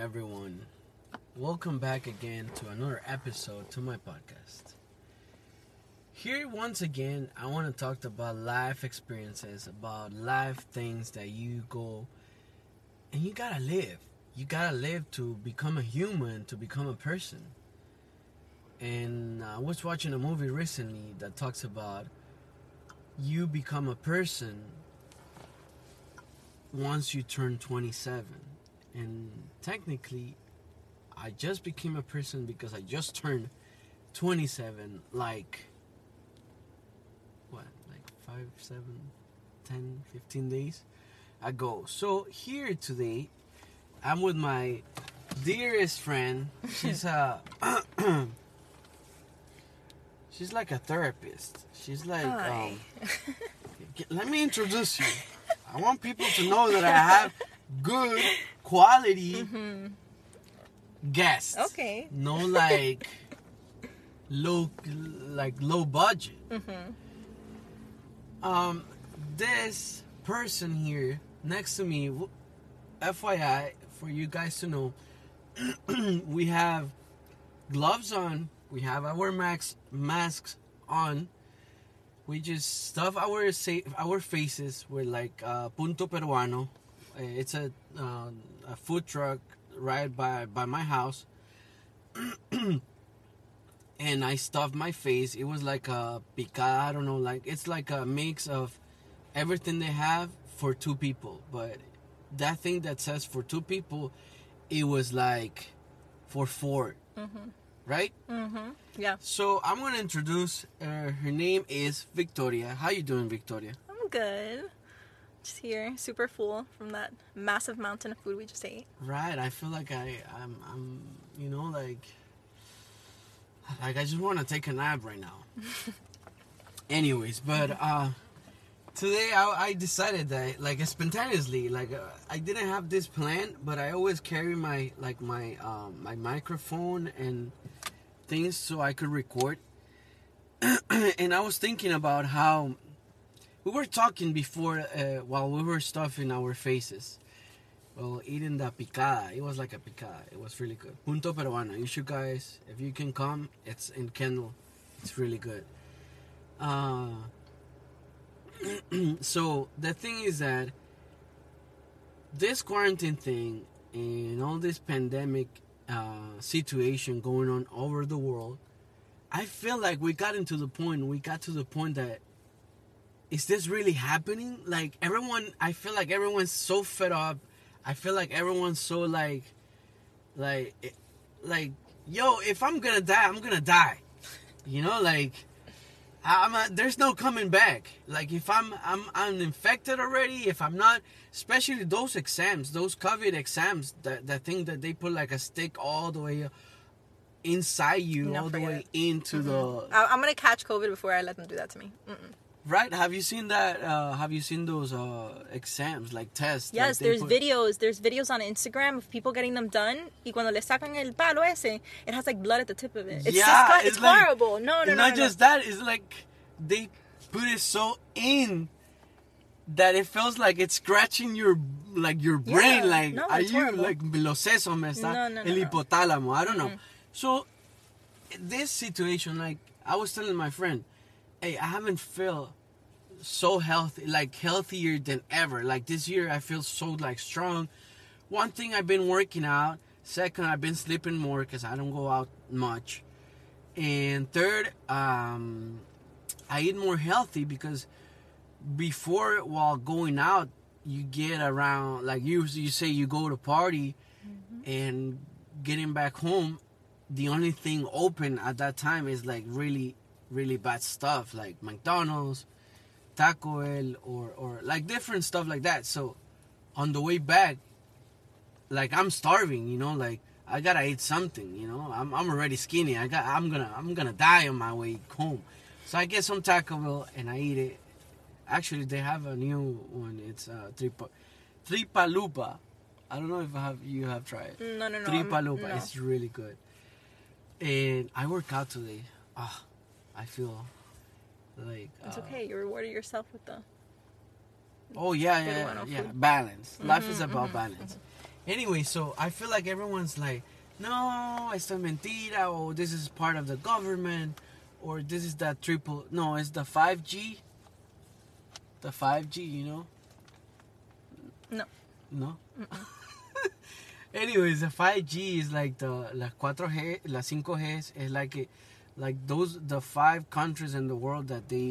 everyone. Welcome back again to another episode to my podcast. Here, once again, I want to talk about life experiences, about life things that you go and you gotta live. You gotta live to become a human, to become a person. And I was watching a movie recently that talks about you become a person once you turn 27. And technically, I just became a person because I just turned 27 like 5, 7, 10, 15 days ago. So here today, I'm with my dearest friend. She's she's like a therapist. She's like, let me introduce you. I want people to know that I have good quality guests. Okay. No low budget. This person here next to me, FYI, for you guys to know, we have gloves on. We have our masks on. We just stuff our faces with like Punto Peruano. It's a food truck right by my house. And I stuffed my face. It was like a picada, I don't know, like it's like a mix of everything they have for two people. But that thing that says for two people, it was like for four. Right? Yeah. So I'm gonna introduce her name is Victoria. How you doing, Victoria? I'm good. Just here, super full from that massive mountain of food we just ate. Right. I feel like I'm you know, like I just want to take a nap right now. Anyways, but today I decided that like spontaneously, like I didn't have this plan, but I always carry my microphone and things so I could record. And I was thinking about how we were talking before while we were stuffing our faces. Well, eating the picada. It was like a picada. It was really good. Punto Peruano. You should guys, if you can come, it's in Kendall. It's really good. So the thing is that this quarantine thing and all this pandemic situation going on over the world, I feel like we got to the point that is this really happening? Like I feel like everyone's so fed up. I feel like everyone's so like, yo, if I'm gonna die, I'm gonna die. You know, like, there's no coming back. Like, if I'm infected already, if I'm not, especially those exams, those COVID exams, that thing that they put like a stick all the way inside you, all the way into the... I'm gonna catch COVID before I let them do that to me. Right? Have you seen that? Have you seen those exams, like tests? Yes, like there's videos. There's videos on Instagram of people getting them done. Y cuando le sacan el palo ese, it has like blood at the tip of it. It's like, horrible. No. Not just that. It's like they put it so in that it feels like it's scratching your brain. Yeah, like, no, are it's you horrible. like los sesos me está el hipotálamo? I don't know. So this situation, like I was telling my friend, hey, I haven't felt so healthy, like healthier than ever. Like this year, I feel so like strong. One thing, I've been working out. Second, I've been sleeping more because I don't go out much. And third, I eat more healthy because before, while going out, you get around, like you say you go to party and getting back home, the only thing open at that time is like really, really bad stuff like McDonald's, Taco Bell, or like different stuff like that. So on the way back, like I'm starving, you know, like I gotta eat something, you know. I'm already skinny. I'm gonna die on my way home. So I get some Taco Bell and I eat it. Actually, they have a new one. It's Tripalupa. I don't know if you have tried it. No. Tripalupa. No. It's really good. And I work out today. I feel like... It's okay. You rewarded yourself with the... Oh, yeah. Balance. Life is about balance. Anyway, so I feel like everyone's like, no, esto es mentira, or this is part of the government, or this is that triple. No, it's the 5G. The 5G, you know? No. No? Anyways, the 5G is like la 4G, la 5G is like those, the 5 countries in the world that they,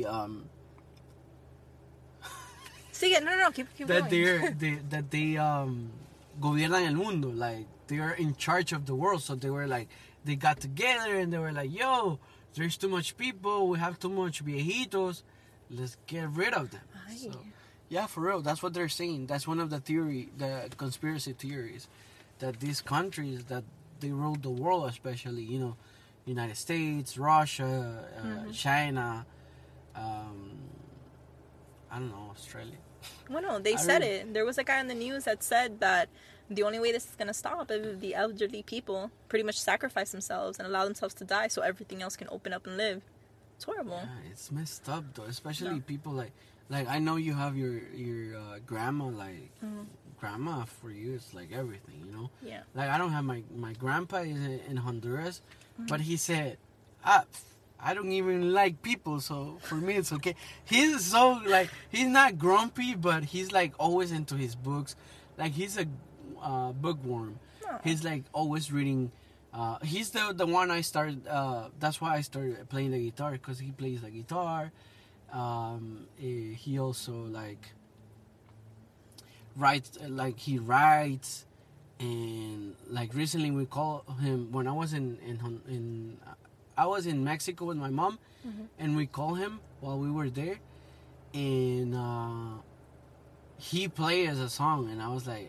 Sigue, no, keep that going. they gobiernan el mundo, like they are in charge of the world. So they were like, they got together and they were like, yo, there's too much people, we have too much viejitos, let's get rid of them. So, yeah, for real, that's what they're saying. That's one of the conspiracy theories, that these countries that they rule the world, especially, you know, United States, Russia, China, I don't know, Australia. Well, no, they said it. There was a guy on the news that said that the only way this is going to stop is if the elderly people pretty much sacrifice themselves and allow themselves to die so everything else can open up and live. It's horrible. Yeah, it's messed up, though. Especially people like I know you have your grandma, like, grandma for you is like everything, you know? Yeah. Like, I don't have my grandpa is in Honduras, but he said, I don't even like people, so for me it's okay. He's so, like, he's not grumpy, but he's, like, always into his books. Like, he's a bookworm. Oh. He's, like, always reading. He's the one I started, that's why I started playing the guitar, because he plays the guitar. He also, like, writes, and, like, recently we called him, when I was I was in Mexico with my mom, and we called him while we were there, and he played as a song, and I was like,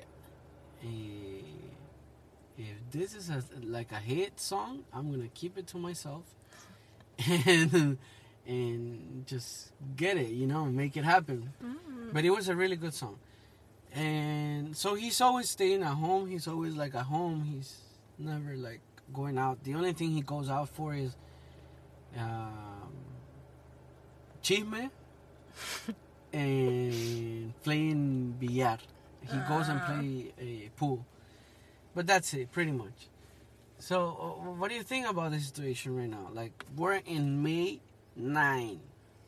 if this is like a hit song, I'm gonna keep it to myself, and just get it, you know, make it happen. But it was a really good song, and so he's always staying at home. He's always like at home. He's never like going out. The only thing he goes out for is chisme and playing billar. He goes and play a pool, but that's it pretty much. So what do you think about the situation right now? Like, we're in May 9.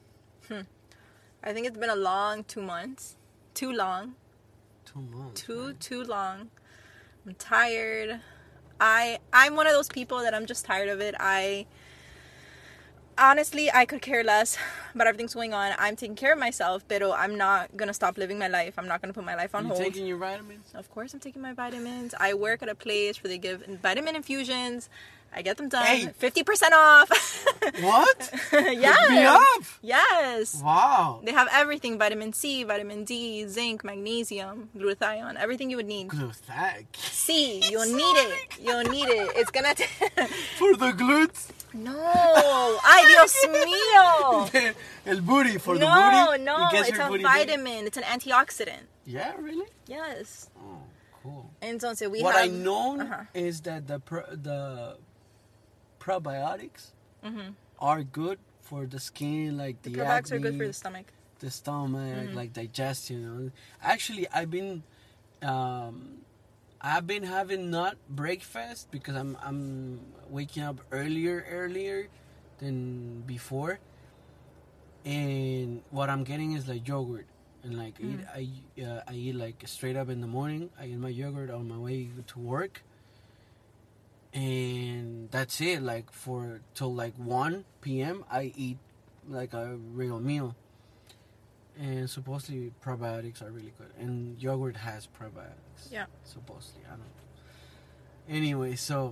I think it's been a long 2 months. Too long. 2 months. Too long. I'm tired. I'm one of those people that I'm just tired of it. Honestly, I could care less about everything's going on. I'm taking care of myself, but I'm not going to stop living my life. I'm not going to put my life on hold. You taking your vitamins? Of course I'm taking my vitamins. I work at a place where they give vitamin infusions. I get them done. Hey. 50% off. What? Yes. Me up? Yes. Wow. They have everything. Vitamin C, vitamin D, zinc, magnesium, glutathione. Everything you would need. Glutathione? C. You'll need it. You'll need it. It's going to... For the glutes? No. Ay, Dios mío. El booty. For the booty? No. It's a vitamin. Big? It's an antioxidant. Yeah, really? Yes. Oh, cool. Entonces, what I know is that the probiotics are good for the skin, like the probiotics acne, are good for the stomach. The stomach, like digestion. Actually, I've been having not breakfast because I'm waking up earlier than before, and what I'm getting is like yogurt, and like I eat like straight up in the morning. I eat my yogurt on my way to work. And that's it. Like till like 1 p.m. I eat like a real meal. And supposedly probiotics are really good. And yogurt has probiotics. Yeah. Supposedly, I don't know. Anyway, so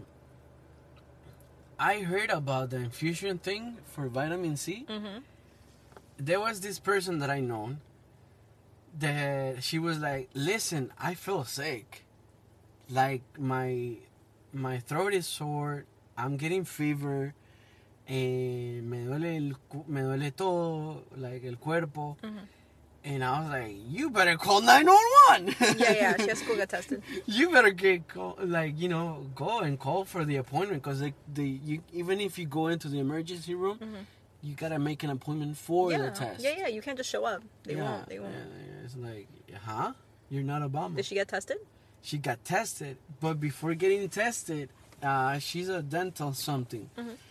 I heard about the infusion thing for vitamin C. There was this person that I know that she was like, listen, I feel sick. Like my throat is sore, I'm getting fever, and me duele todo, like el cuerpo. And I was like, you better call 911. Yeah, she has to go get tested. You better go and call for the appointment, because even if you go into the emergency room, you gotta make an appointment for the test. Yeah, you can't just show up. They won't. Yeah, it's like, huh? You're not Obama. Did she get tested? she got tested. But before getting tested, she's a dental something.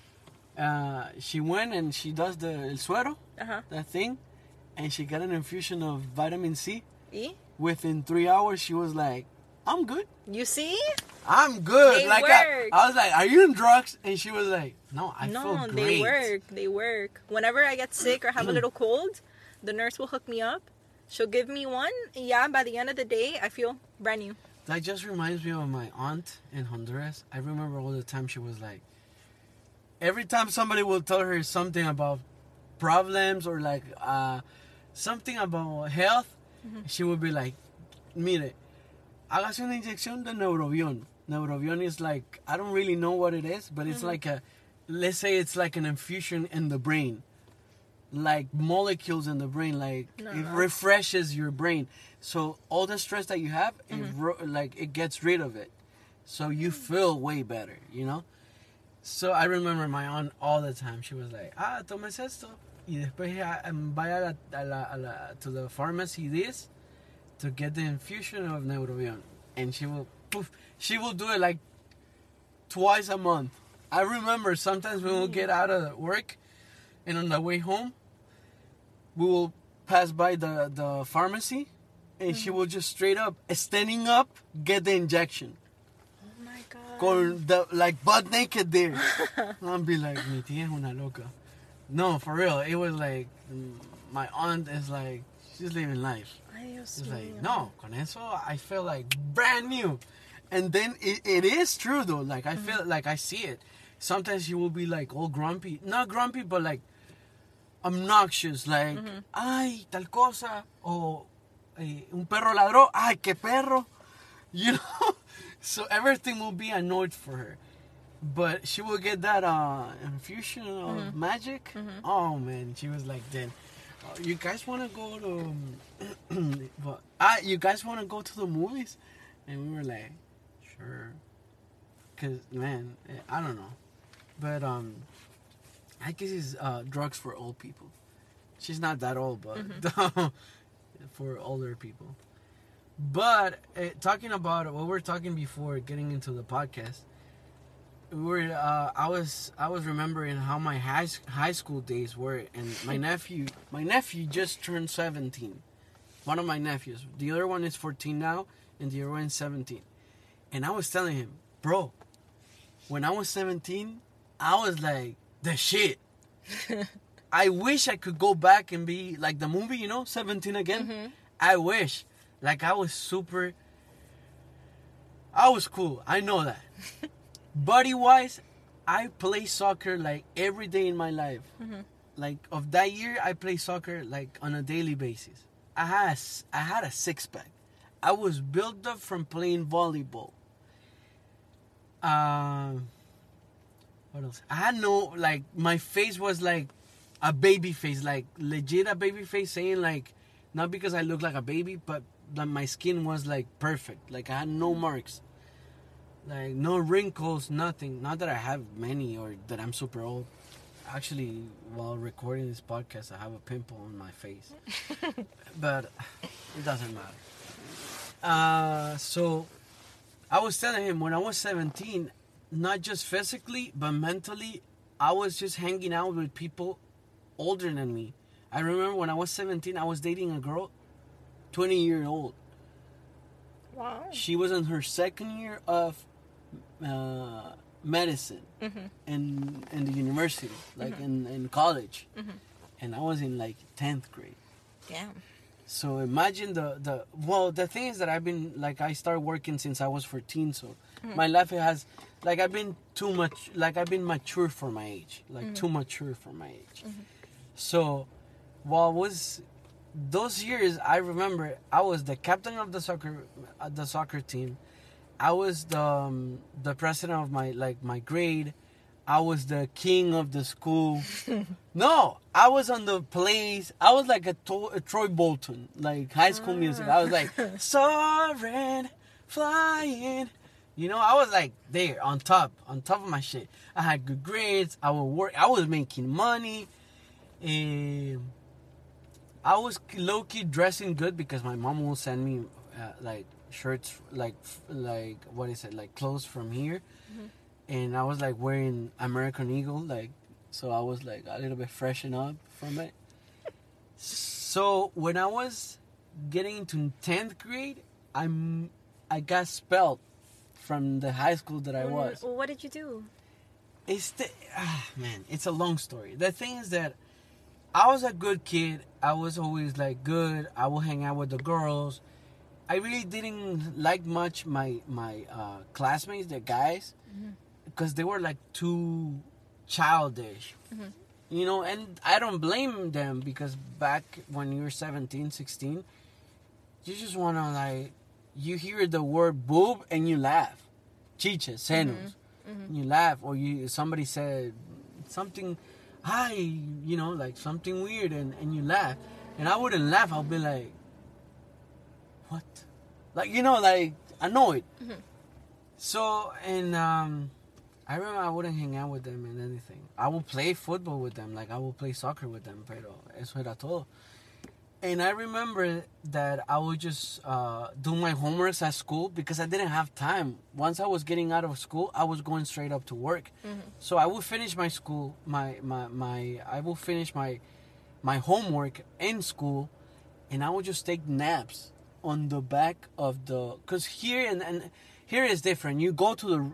She went and she does the el suero, that thing, and she got an infusion of vitamin C. Within 3 hours, she was like, I'm good. You see? I'm good. They like work. I was like, are you on drugs? And she was like, no, I feel great. They work. They work. Whenever I get sick or have a little cold, the nurse will hook me up. She'll give me one. And yeah, by the end of the day, I feel brand new. That just reminds me of my aunt in Honduras. I remember all the time she was like, every time somebody will tell her something about problems or like something about health, she would be like, mire, hágase una inyección de Neurobion. Neurobion is like, I don't really know what it is, but it's like let's say it's like an infusion in the brain. Like molecules in the brain, like it refreshes your brain. So all the stress that you have, it gets rid of it. So you feel way better, you know? So I remember my aunt all the time. She was like, tomes esto. Y después vaya to the pharmacy this to get the infusion of Neurobion. And she will do it like twice a month. I remember sometimes when we'll get out of work and on the way home, we will pass by the pharmacy and she will just straight up, standing up, get the injection. Oh my God. Con like butt naked there. I'll be like, mi tía es una loca. No, for real. It was like, my aunt is like, she's living life. It's like, no, con eso I feel like brand new. And then it is true though. Like I feel like I see it. Sometimes you will be like all grumpy. Not grumpy, but like obnoxious. Like, ay, tal cosa. O un perro ladró. Ay, qué perro. You know? So everything will be annoyed for her. But she will get that infusion of magic. Oh man, she was like, then, you guys want to go to, you guys want to go to the movies? And we were like, sure. Cause man, I don't know, but I guess it's drugs for old people. She's not that old, but for older people. But talking about what we're talking before getting into the podcast. I was remembering how my high school days were, and my nephew just turned 17. One of my nephews. The other one is 14 now, and the other one is 17. And I was telling him, bro, when I was 17, I was like the shit. I wish I could go back and be like the movie, 17 again. I wish. Like I was cool. I know that. Buddy-wise, I play soccer like every day in my life. Like of that year, I play soccer like on a daily basis. I had a six-pack. I was built up from playing volleyball. What else? I had my face was like a baby face, like legit a baby face, saying like, not because I look like a baby, but my skin was like perfect. Like I had no marks. Like, no wrinkles, nothing. Not that I have many or that I'm super old. Actually, while recording this podcast, I have a pimple on my face. But it doesn't matter. So, I was telling him when I was 17, not just physically, but mentally, I was just hanging out with people older than me. I remember when I was 17, I was dating a girl 20-year-old. Wow. She was in her second year of medicine in the university, like in college, and I was in like 10th grade. Damn. So imagine the thing is that I started working since I was 14, so my life has I've been mature for my age, too mature for my age. So while was those years, I remember I was the captain of the soccer team. I was the president of my grade. I was the king of the school. No, I was on the plays. I was like a Troy Bolton, like High School Music. I was like soaring, flying. I was like there on top of my shit. I had good grades. I would work. I was making money. I was low-key dressing good because my mom will send me shirts like what is it, like clothes from here, and I was like wearing American Eagle, like, so I was like a little bit freshen up from it. So when I was getting into 10th grade, I got expelled from the high school that I was. What did you do? Man, it's a long story. The thing is that I was a good kid. I was always like good. I would hang out with the girls. I really didn't like much my classmates, the guys, because they were like too childish. You know, and I don't blame them, because back when you're 17, 16, you just want to, like, you hear the word boob and you laugh. Chiches, senos. You laugh, or somebody said something, hi, you know, like something weird, and you laugh. And I wouldn't laugh. I'll be like, what? Like, you know, like annoyed. So, and I remember I wouldn't hang out with them and anything. I would play football with them, like I would play soccer with them, pero eso era todo. And I remember that I would just do my homeworks at school, because I didn't have time. Once I was getting out of school, I was going straight up to work. So I would finish my school, I will finish my homework in school, and I would just take naps on the back of the, because here and here is different. You go to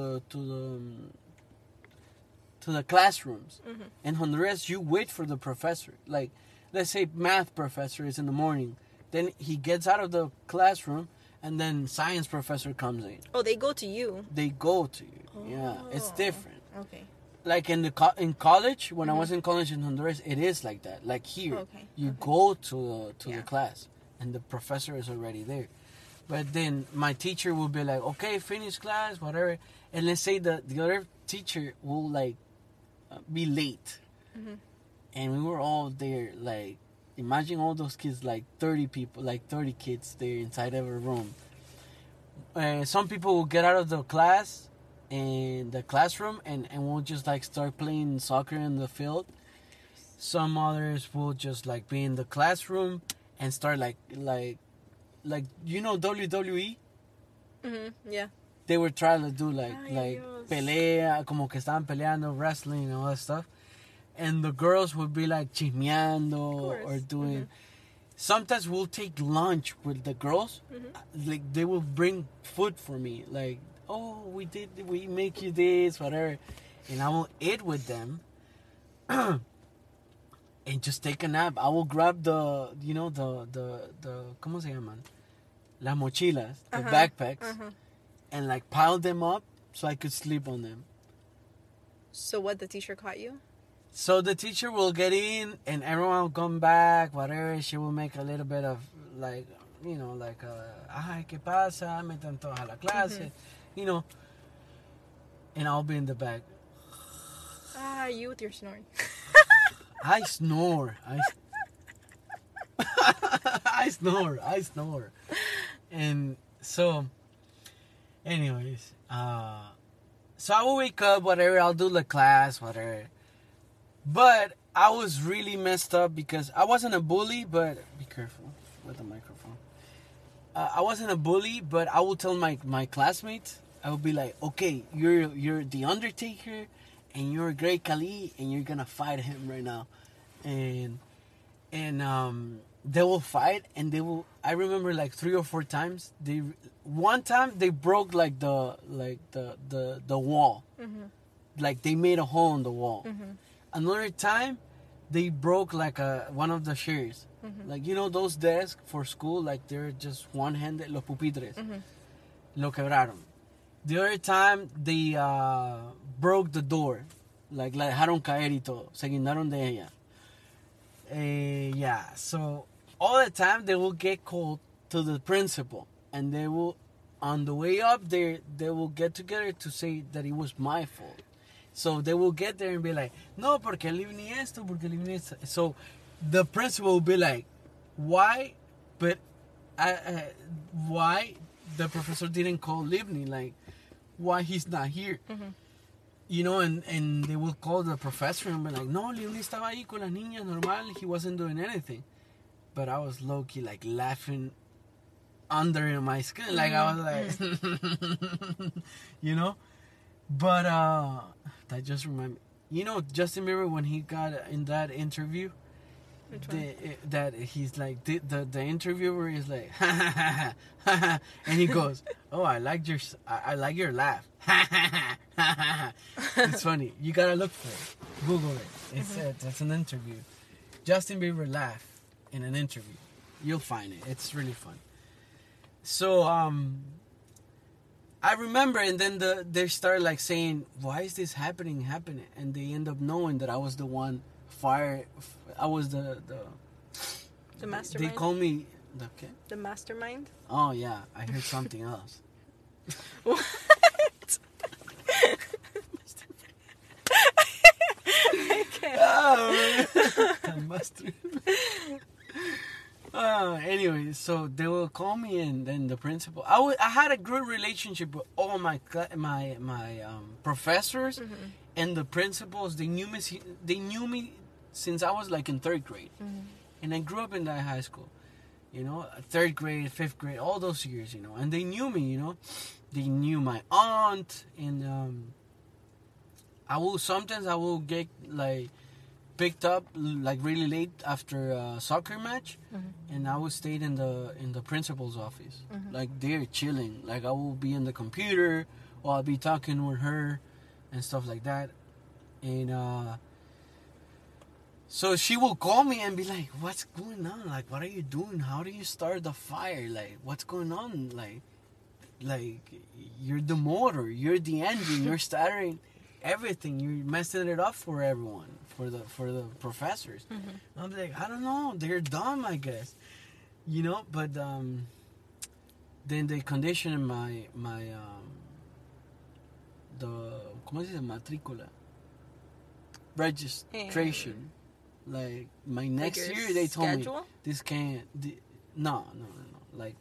the classrooms. In Honduras, you wait for the professor. Like, let's say math professor is in the morning, then he gets out of the classroom, and then science professor comes in. Oh, they go to you. They go to you. Oh. Yeah, it's different. Okay. Like in college, when I was in college in Honduras, it is like that. Like here, you go to the class, and the professor is already there. But then my teacher will be like, okay, finish class, whatever. And let's say the other teacher will like be late. And we were all there, like, imagine all those kids, like 30 people, like 30 kids there inside of a room. Some people will get out of the class in the classroom and will just like start playing soccer in the field. Some others will just like be in the classroom and start like you know WWE? Yeah. They were trying to do like pelea, como que estaban peleando, wrestling and all that stuff. And the girls would be like chismeando or doing. Sometimes we'll take lunch with the girls. Like they will bring food for me. Like, oh, we make you this, whatever. And I will eat with them. And just take a nap. I will grab the ¿cómo se llaman? Las mochilas, the backpacks, and like pile them up so I could sleep on them. So what, the teacher caught you? So the teacher will get in and everyone will come back, whatever. She will make a little bit of like, you know, like, ay, ¿qué pasa? Metan todos a la clase, you know. And I'll be in the back. You with your snoring. I snore. I snore. And so, anyways, so I will wake up, whatever. I'll do the class, whatever. But I was really messed up because I wasn't a bully, but be careful with the microphone. I wasn't a bully, but I will tell my classmates, I would be like, okay, you're the Undertaker, and you're Great Khali, and you're gonna fight him right now, and they will fight, and they will. I remember like 3 or 4 times. One time they broke like the wall, like they made a hole in the wall. Another time, they broke like one of the chairs. Like, you know, those desks for school, like they're just one-handed, los pupitres. Lo quebraron. The other time, they broke the door. Like, la dejaron caer y todo. Se guindaron de ella. Yeah, so all the time, they will get called to the principal. And they will, on the way up there, they will get together to say that it was my fault. So they will get there and be like, no, porque Livni esto, porque Livni esto. So the principal will be like, why? But why the professor didn't call Livni? Like, why he's not here? You know, and they will call the professor and be like, no, Livni estaba ahí con las niñas normal. He wasn't doing anything. But I was low-key like laughing under my skin. Like, I was like, you know? But, that just reminded me. You know, Justin Bieber, when he got in that interview, that he's like, the interviewer is like, and he goes, oh, I like your laugh. It's funny. You gotta look for it. Google it. It's an interview. Justin Bieber laugh in an interview. You'll find it. It's really fun. So, I remember, and then they started like saying, why is this happening? And they end up knowing that I was the one fired. I was the mastermind. They call me the mastermind. Oh yeah, I heard something else. What? Anyway, so they will call me, and then the principal. I had a good relationship with all my professors, and the principals. They knew me since I was like in 3rd grade, and I grew up in that high school. You know, 3rd grade, 5th grade, all those years. You know, and they knew me. You know, they knew my aunt, and I will get like picked up like really late after a soccer match, and I would stay in the principal's office. Like, they're chilling. Like, I will be in the computer, or I'll be talking with her and stuff like that. And so she will call me and be like, what's going on? Like, what are you doing? How do you start the fire? Like, what's going on? Like you're the motor, you're the engine, you're starting everything, you're messing it up for everyone, for the professors. I'm like, I don't know, they're dumb, I guess, you know. But then they conditioned my the ¿cómo se dice? Matrícula, registration. Like, my next year, they told me this can't. No. Like,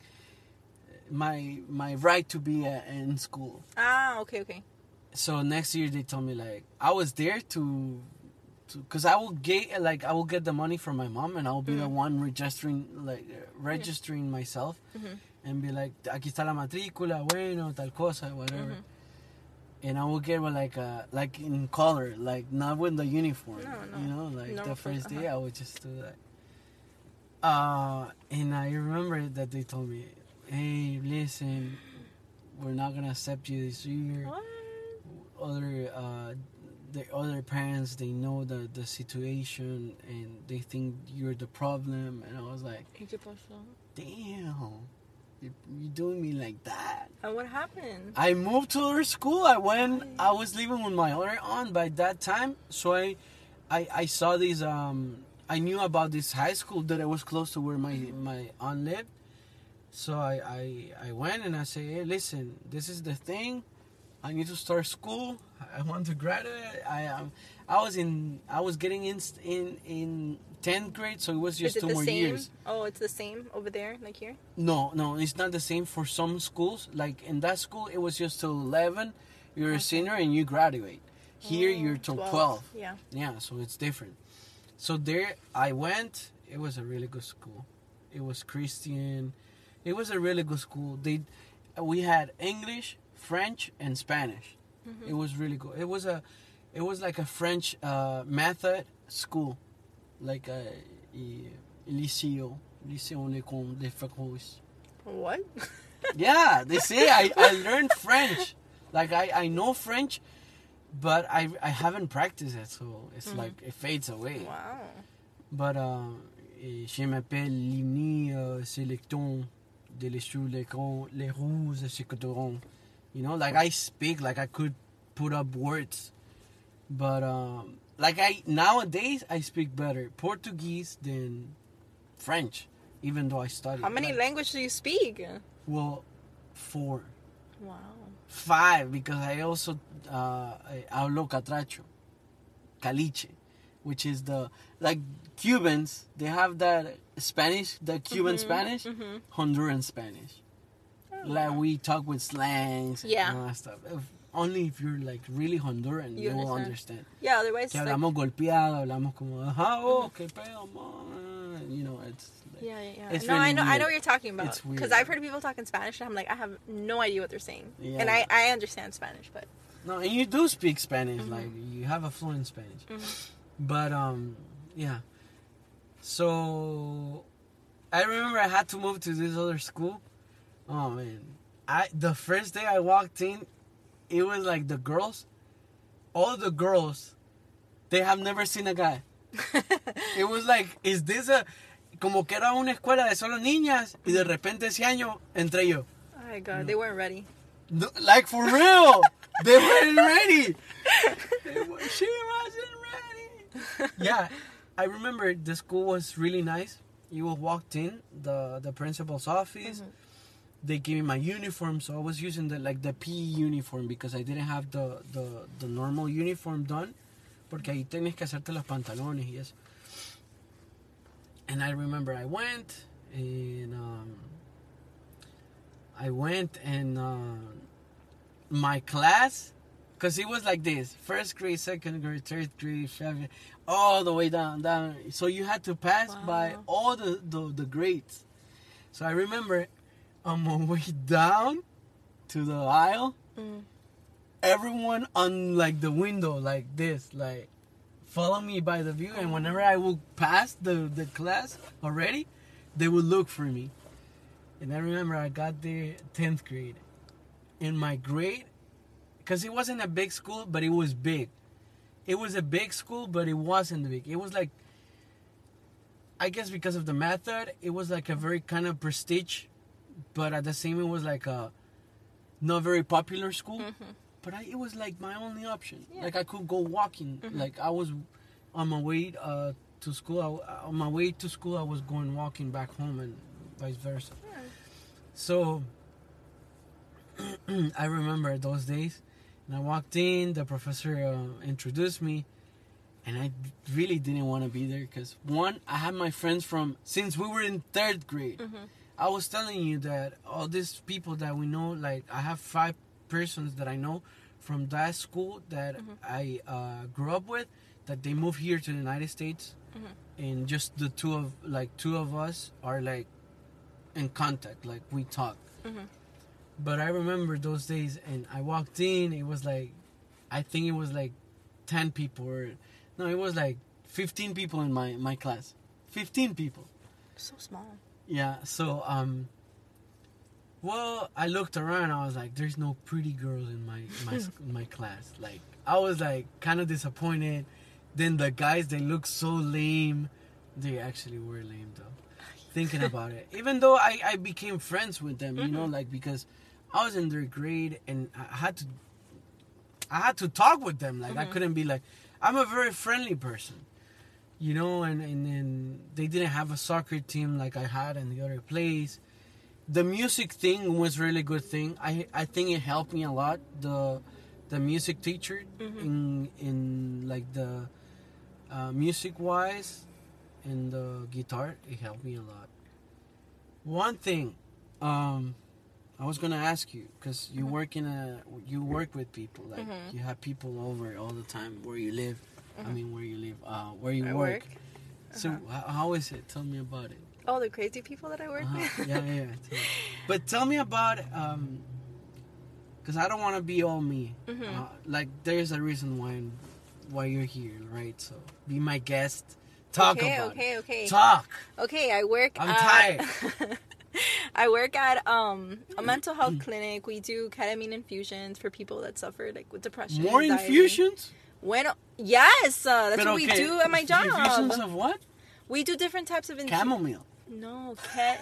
my right to be in school. Okay. So next year they told me, like, I was there to because I will get the money from my mom, and I will be the one registering myself, and be like, aquí está la matrícula, bueno, tal cosa, whatever. And I will get like in color, like not with the uniform. No. You know, like the first day I would just do that. And I remember that they told me, hey, listen, we're not gonna accept you this year. What? The other parents, they know the situation, and they think you're the problem. And I was like, damn, you're doing me like that. And what happened? I moved to her school. I was living with my other aunt by that time. So I saw these, I knew about this high school that it was close to where my aunt lived. So I went and I said, hey, listen, this is the thing. I need to start school. I want to graduate. I was getting in 10th grade, so it was just 2 more years. Oh, it's the same over there, like here? No, it's not the same for some schools. Like, in that school, it was just till 11. You're a senior and you graduate. Here, you're till 12. Yeah, so it's different. So there, I went. It was a really good school. It was Christian. It was a really good school. We had English, French, and Spanish. It was really good. It was like a French method school, like a lycée de France. What? Yeah, they say I learned French. Like, I know French, but I haven't practiced it, so it's like it fades away. Wow. But je m'appelle Limni Selecton de l'école les rouges Secotoron. You know, like, I speak like I could put up words, but nowadays I speak better Portuguese than French, even though I studied. How many languages do you speak? Well, 4. Wow. 5, because I also hablo catracho, caliche, which is like Cubans. They have that Spanish, the Cuban Spanish, Honduran Spanish. Like, we talk with slangs and all that stuff. Only if you're like really Honduran, you will understand. Yeah, otherwise. Que hablamos golpeado, hablamos como, qué pedo, man. you know, it's like, yeah. It's No, really I know weird. what you're talking about. It's weird. Because I've heard people talk in Spanish, and I'm like, I have no idea what they're saying. Yeah. And I understand Spanish, but No, and you do speak Spanish, like you have a fluent Spanish. But yeah. So I remember I had to move to this other school. Oh man, the first day I walked in, it was like the girls, all the girls, they have never seen a guy. It was like, is this a, como que era una escuela de solo niñas y de repente ese año entré yo. oh my god, they weren't ready. No, like for real, they weren't ready. She wasn't ready. Yeah, I remember the school was really nice. You walked in the principal's office. They gave me my uniform, so I was using the PE uniform because I didn't have the normal uniform done, porque ahí tienes que hacerte los pantalones y eso. And I remember I went and my class, because it was like this: first grade, second grade, third grade, seventh, all the way down. So you had to pass by all the grades. So I remember on my way down to the aisle, everyone on like the window like this, like follow me by the view, and whenever I would pass the class already, they would look for me. And I remember I got there 10th grade. In my grade, because it wasn't a big school, but it was big. It was a big school, but it wasn't big. It was like, I guess because of the method, it was like a very kind of prestige, but at the same it was like a not very popular school. But it was like my only option. Yeah. Like I could go walking. Like I was on my way to school. On my way to school, I was going walking back home and vice versa. Yeah. So I remember those days. And I walked in. The professor introduced me, and I really didn't want to be there because one, I had my friends from since we were in 3rd grade. I was telling you that all these people that we know, like I have 5 persons that I know from that school that I grew up with, that they moved here to the United States, and just the two of us are like in contact, like we talk. But I remember those days, and I walked in. It was like, I think it was like 10 people, it was like 15 people in my class. 15 people. So small. Yeah. So well, I looked around. I was like, "There's no pretty girls in my class." Like, I was like kind of disappointed. Then the guys, they looked so lame. They actually were lame though. Thinking about it, even though I became friends with them, you know, like because I was in their grade and I had to talk with them. Like I couldn't be like, I'm a very friendly person, you know, and then they didn't have a soccer team like I had in the other place. The music thing was really good thing. I think it helped me a lot. The music teacher in like the music wise and the guitar, it helped me a lot. One thing I was gonna ask you, because you work with people, like you have people over all the time where you live. I mean, where you work. So how is it? Tell me about it. Oh, the crazy people that I work with? Yeah. But tell me about, because I don't want to be all me. Like, there's a reason why you're here, right? So, be my guest. Talk about it. Okay. Talk. Okay, I'm tired. I work at a mental health clinic. We do ketamine infusions for people that suffer like with depression. More anxiety. Infusions? Yes, that's what we do at my job. Infusions of what? We do different types of chamomile. No,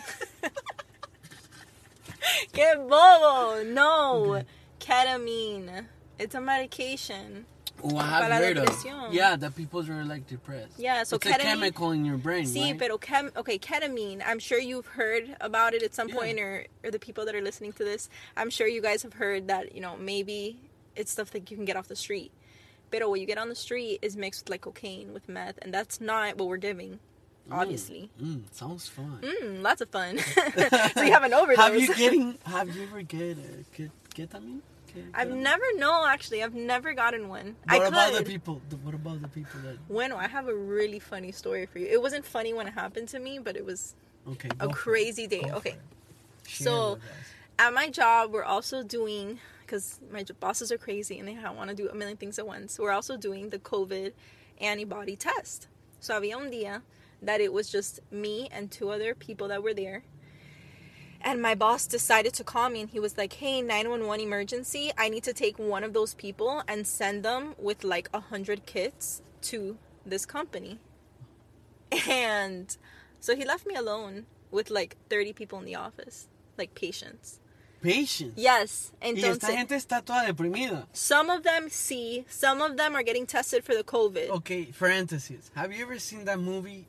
Que bobo. No, ketamine. It's a medication. Oh, I have heard of. Yeah, that people are like depressed. Yeah, so it's ketamine, a chemical in your brain, right? Pero ketamine. I'm sure you've heard about it at some point, or the people that are listening to this. I'm sure you guys have heard that, you know, maybe it's stuff that you can get off the street. But what you get on the street is mixed with like cocaine, with meth, and that's not what we're giving. Obviously. Sounds fun. Lots of fun. So you have an overdose. Have you ever get ketamine? I've never gotten one. What about the people? What about the people that? Bueno, I have a really funny story for you. It wasn't funny when it happened to me, but it was a crazy day. Okay, so at my job, we're also doing, because my bosses are crazy and they want to do a million things at once. We're also doing the COVID antibody test. So había un día that it was just me and 2 other people that were there. And my boss decided to call me and he was like, hey, 911 emergency. I need to take one of those people and send them with like 100 kits to this company. And so he left me alone with like 30 people in the office, like patients. Patients? Yes. Entonces, y esta gente está toda deprimida. Some of them some of them are getting tested for the COVID. Okay, parentheses. Have you ever seen that movie,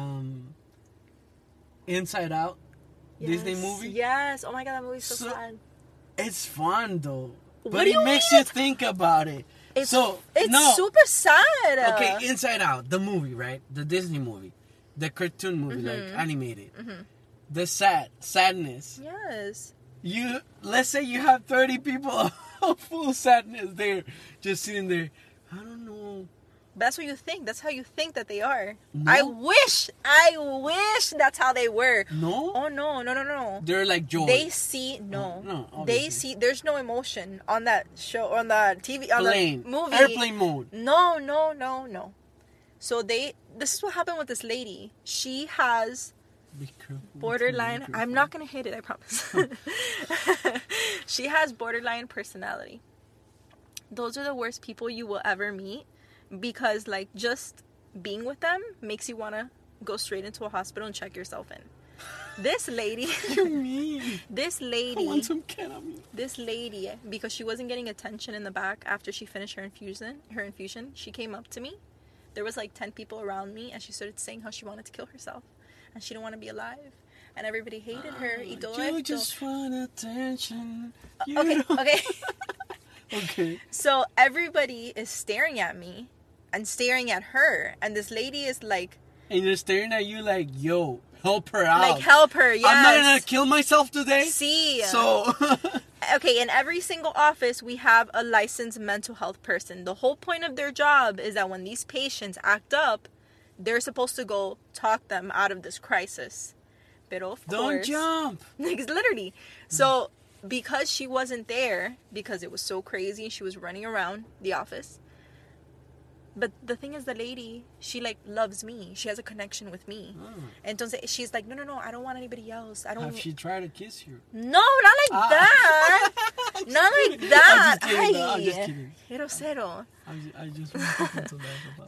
Inside Out? Yes. Disney movie? Yes. Oh my God, that movie's so sad. It's fun though. But it makes you think about it. It's super sad. Okay, Inside Out, the movie, right? The Disney movie. The cartoon movie, like animated. The sadness. Yes. Let's say you have 30 people of full sadness there, just sitting there. I don't know. That's what you think. That's how you think that they are. No? I wish that's how they were. No? Oh, no. They're like joy. They see, no. Obviously. They see, there's no emotion on that show, on the TV, on the movie. Airplane mode. No. So this is what happened with this lady. She has borderline, I'm not going to hit it, I promise. She has borderline personality. Those are the worst people you will ever meet. Because, like, just being with them makes you want to go straight into a hospital and check yourself in. This lady... What do you mean? This lady... I want some ketamine. This lady, because she wasn't getting attention in the back after she finished her infusion, she came up to me. There was, like, 10 people around me, and she started saying how she wanted to kill herself. And she didn't want to be alive. And everybody hated her. You just want attention. Okay. Okay. So everybody is staring at me and staring at her, and this lady is like, and they're staring at you like, yo, help her out. Like, help her, yes. I'm not gonna kill myself today. See. So. Okay, in every single office, we have a licensed mental health person. The whole point of their job is that when these patients act up, they're supposed to go talk them out of this crisis. But of course, don't jump. Literally. So, because she wasn't there, because it was so crazy, she was running around the office. But the thing is, the lady, she, like, loves me. She has a connection with me. Entonces, she's like, no, I don't want anybody else. Have she tried to kiss you? No, not like that. Not like that. I'm just kidding. Cero. I just want to laugh about it.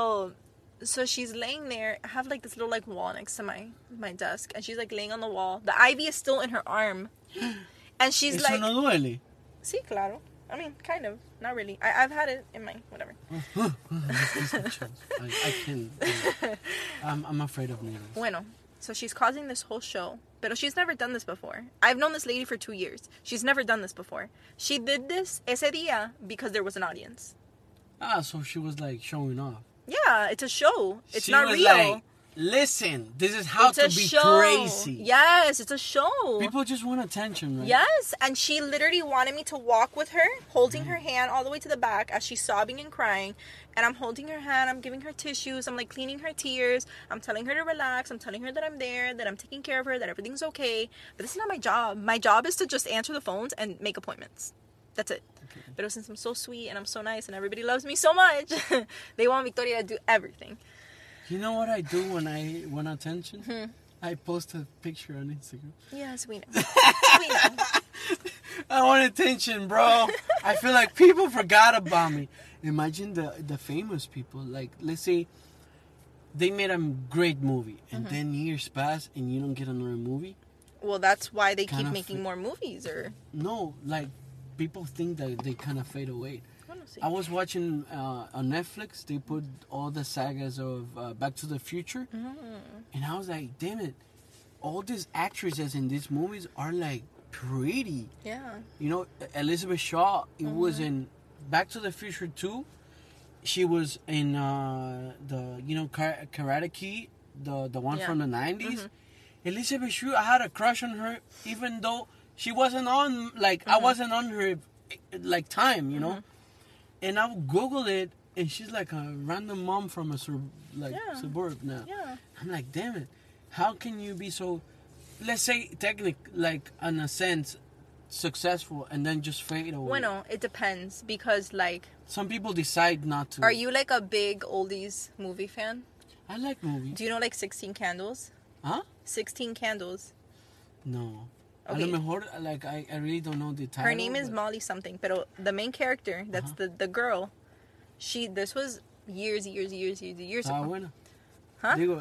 So she's laying there. I have, like, this little, like, wall next to my desk. And she's, like, laying on the wall. The IV is still in her arm. And she's Eso like... no duele? Sí, claro. I mean, kind of. Not really. I've had it in my... Whatever. I can't. I'm afraid of needles. Bueno. So she's causing this whole show. But she's never done this before. I've known this lady for 2 years. She's never done this before. She did this ese día because there was an audience. So she was, like, showing off. Yeah, it's a show. It's she not was real. Like, listen, this is how to be show. Crazy. Yes, it's a show. People just want attention, right? Yes, and she literally wanted me to walk with her, holding her hand all the way to the back as she's sobbing and crying. And I'm holding her hand, I'm giving her tissues, I'm, like, cleaning her tears. I'm telling her to relax, I'm telling her that I'm there, that I'm taking care of her, that everything's okay. But this is not my job. My job is to just answer the phones and make appointments. That's it. Okay. But since I'm so sweet and I'm so nice and everybody loves me so much, they want Victoria to do everything. You know what I do when I want attention? I post a picture on Instagram. Yes, we know. We know. I want attention, bro. I feel like people forgot about me. Imagine the famous people. Like, let's say they made a great movie and then years pass and you don't get another movie. Well, that's why they keep making more movies, or... No, like, people think that they kind of fade away. I was watching on Netflix, they put all the sagas of Back to the Future. And I was like, damn it. All these actresses in these movies are, like, pretty. Yeah. You know, Elizabeth Shaw, it was in Back to the Future 2. She was in Karate Kid, the one from the 90s. Elizabeth Shue, I had a crush on her, even though she wasn't on, like, I wasn't on her like time, you know. And I Google it, and she's like a random mom from a suburb now. Yeah. I'm like, damn it, how can you be so, let's say, like in a sense, successful and then just fade away? Bueno, it depends because like some people decide not to. Are you like a big oldies movie fan? I like movies. Do you know like 16 Candles? Huh? 16 Candles. No. Okay. A lo mejor, like, I really don't know the title. Her name is Molly something, pero the main character, that's the girl, this was years ago. Buena. Huh? Digo,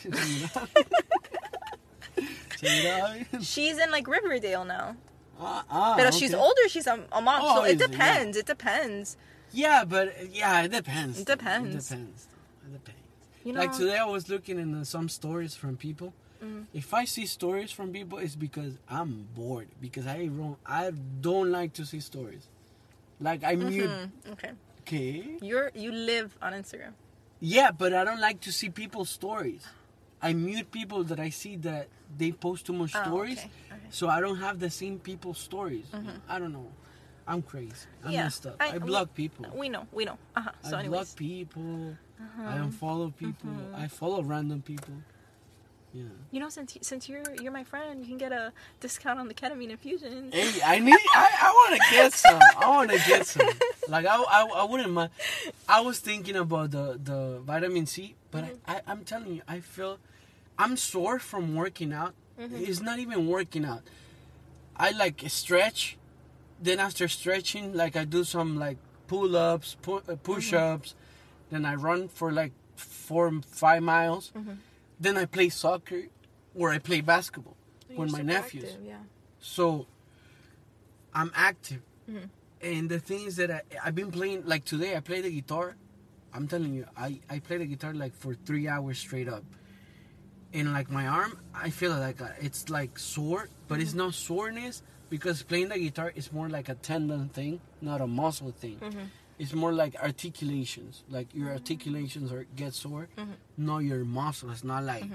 She's in like Riverdale now. But okay. She's older, she's a mom, so it depends, it depends. Yeah, but, it depends. It depends. It depends. You know, like today I was looking in some stories from people. If I see stories from people, it's because I'm bored. Because I don't like to see stories. Like I mute. Okay. Okay. You live on Instagram. Yeah, but I don't like to see people's stories. I mute people that I see that they post too much stories. Okay. So I don't have the same people's stories. I don't know. I'm crazy. I'm messed up. I block people. We know. So I block people. I unfollow people. I follow random people. Yeah. You know, since you're my friend, you can get a discount on the ketamine infusions. Hey, I want to get some. Like I wouldn't mind. I was thinking about the vitamin C, but I'm telling you, I feel I'm sore from working out. It's not even working out. I like stretch. Then after stretching, like I do some like pull-ups, push-ups. Then I run for like 4 or 5 miles. Then I play soccer or I play basketball with my nephews. Active, yeah. So I'm active. And the thing is that I've been playing, like today I played the guitar. I'm telling you, I played the guitar like for 3 hours straight up. And like my arm, I feel like it's like sore, but it's not soreness because playing the guitar is more like a tendon thing, not a muscle thing. It's more like articulations. Like your articulations get sore. No, your muscle. It's not like...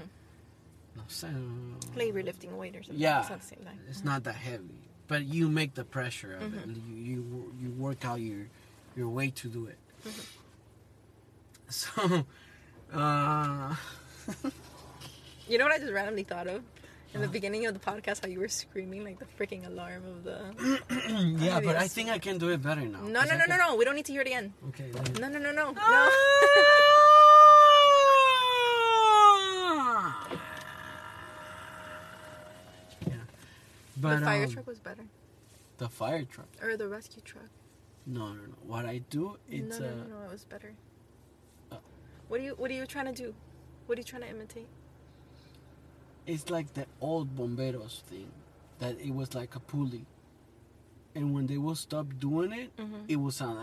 Like you're lifting a weight or something. Yeah. It's not the same thing. It's not that heavy. But you make the pressure of it. You work out your way to do it. So... You know what I just randomly thought of? In the beginning of the podcast, how you were screaming like the freaking alarm of the... Yeah, but I think I can do it better now. No. We don't need to hear it again. Okay. No. Yeah. But, the fire truck was better. The fire truck? Or the rescue truck. No. What I do, it's... No, it was better. What are you trying to do? What are you trying to imitate? It's like the old bomberos thing, that it was like a pulley, and when they will stop doing it, it will sound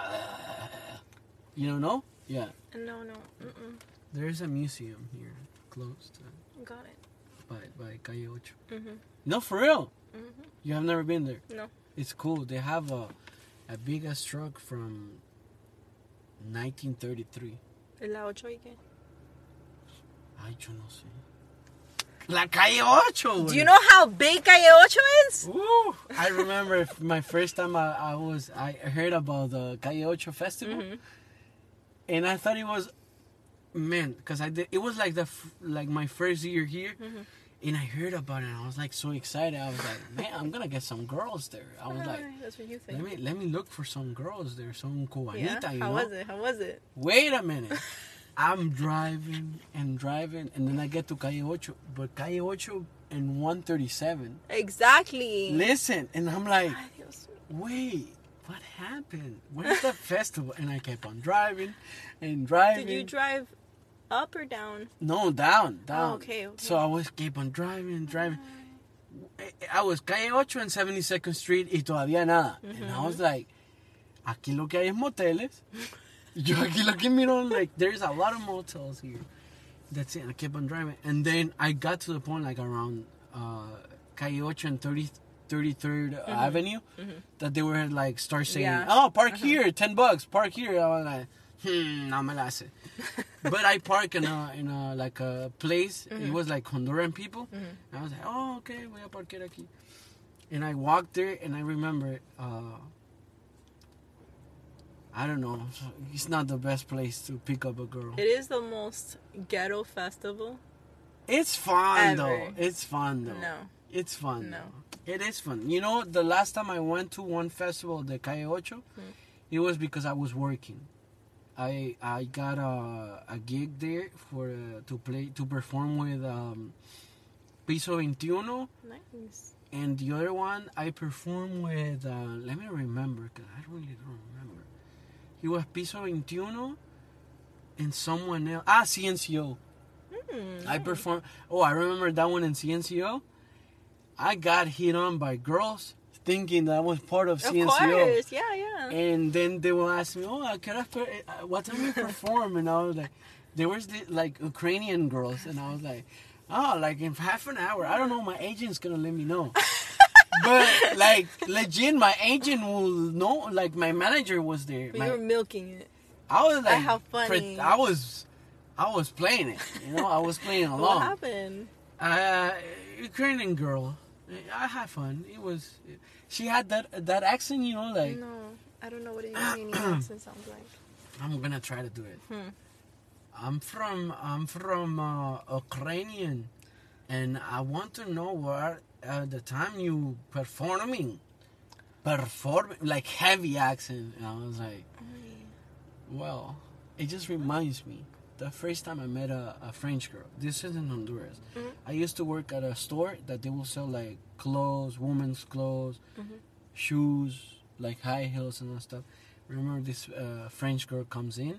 you know? Yeah. No. There is a museum here close to. Got it. By Calle Ocho. No, for real. You have never been there. No. It's cool. They have a big ass truck from 1933. ¿La ocho y qué? Ay, yo no sé. La Calle Ocho. Do you know how big Calle Ocho is? Ooh, I remember my first time I heard about the Calle Ocho festival, and I thought it was, because it was like my first year here, and I heard about it, and I was like so excited. I was like, man, I'm gonna get some girls there. I was like, that's what you think. Let me look for some girls there, some cubanita. Yeah? You How know? How was it? Wait a minute. I'm driving, and then I get to Calle Ocho. But Calle Ocho and 137. Exactly. Listen, and I'm like, wait, what happened? Where's the festival? And I kept on driving and driving. Did you drive up or down? No, down. Oh, okay. So I keep on driving. I was Calle Ocho and 72nd Street y todavía nada. And I was like, aquí lo que hay es moteles. Yo aquí lo que miro, like, there's a lot of motels here. That's it. I kept on driving. And then I got to the point, like, around Calle Ocho and 33rd Avenue, that they were, like, start saying, park here, $10, park here. I was like, no me la hace. But I park in a like, a place. It was, like, Honduran people. And I was like, okay, voy a parquear aquí. And I walked there, and I remember... I don't know. It's not the best place to pick up a girl. It is the most ghetto festival. It's fun ever. though. It's fun though. No. It's fun. No. Though. It is fun. You know, the last time I went to one festival, the Calle Ocho, it was because I was working. I got a gig there for to perform with Piso 21. Nice. And the other one, I performed with, let me remember, because I really don't remember. He was Piso 21 and someone else. CNCO. I performed. Oh, I remember that one in CNCO. I got hit on by girls thinking that I was part of CNCO. Of course, yeah. And then they will ask me, what time you perform? And I was like, there was like Ukrainian girls. And I was like, oh, like in half an hour. I don't know. My agent's going to let me know. But like legit, my agent will know. Like my manager was there. But you were milking it. I was like, how funny. I was playing it. You know, I was playing along. What happened? Ukrainian girl. I had fun. It was. She had that accent. You know, like. No, I don't know what a Ukrainian accent sounds like. I'm gonna try to do it. I'm from Ukrainian, and I want to know what the time you performing like heavy accent. And I was like, well, it just reminds me the first time I met a French girl. This is in Honduras. I used to work at a store that they will sell like clothes, women's clothes, shoes, like high heels and that stuff. Remember this French girl comes in,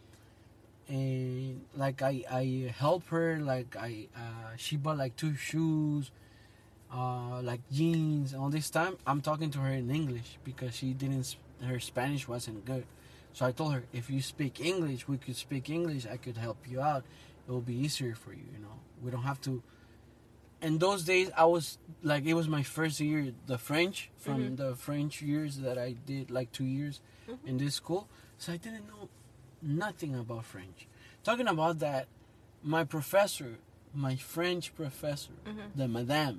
and like I help her, like she bought like 2 shoes, like jeans. All this time I'm talking to her in English because her Spanish wasn't good. So I told her, if you speak English, we could speak English. I could help you out. It will be easier for you. You know, we don't have to. In those days, I was like, it was my first year, the French, from the French years that I did, like 2 years in this school. So I didn't know nothing about French. Talking about that, my professor, my French professor, the madame,